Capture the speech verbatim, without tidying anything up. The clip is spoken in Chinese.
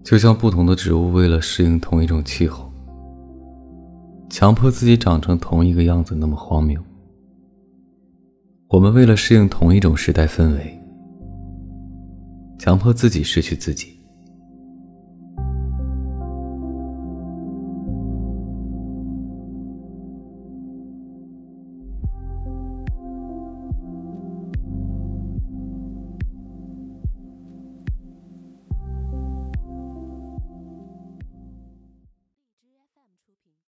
就像不同的植物为了适应同一种气候，强迫自己长成同一个样子那么荒谬。我们为了适应同一种时代氛围，强迫自己失去自己。